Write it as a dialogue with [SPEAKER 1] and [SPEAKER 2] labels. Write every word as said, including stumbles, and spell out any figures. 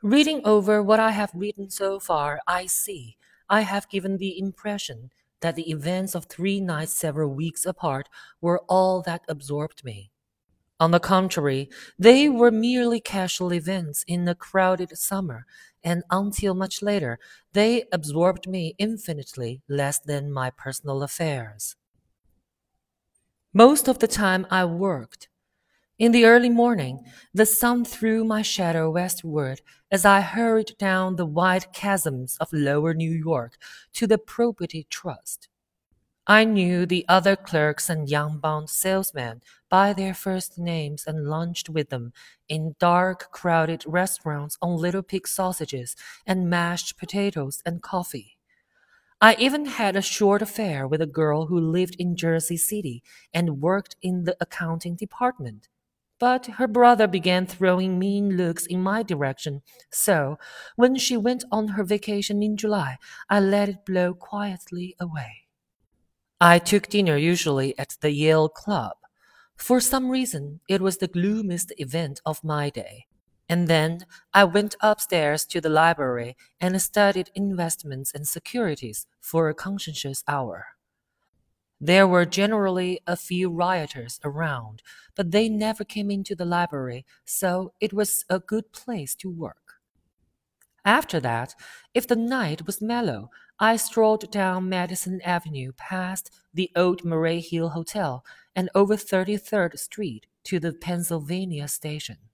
[SPEAKER 1] Reading over what I have written so far, I see I have given the impression that the events of three nights several weeks apart were all that absorbed me. On the contrary, they were merely casual events in a crowded summer, and until much later, they absorbed me infinitely less than my personal affairs. Most of the time I worked. In the early morning, the sun threw my shadow westward as I hurried down the wide chasms of lower New York to the Property Trust. I knew the other clerks and young bond salesmen by their first names and lunched with them in dark, crowded restaurants on little pig sausages and mashed potatoes and coffee. I even had a short affair with a girl who lived in Jersey City and worked in the accounting department. But her brother began throwing mean looks in my direction, so when she went on her vacation in July, I let it blow quietly away. I took dinner usually at the Yale Club. For some reason, it was the gloomiest event of my day. And then I went upstairs to the library and studied investments and securities for a conscientious hour. There were generally a few rioters around, but they never came into the library, so it was a good place to work. After that, if the night was mellow, I strolled down Madison Avenue past the old Murray Hill Hotel and over thirty-third Street to the Pennsylvania Station.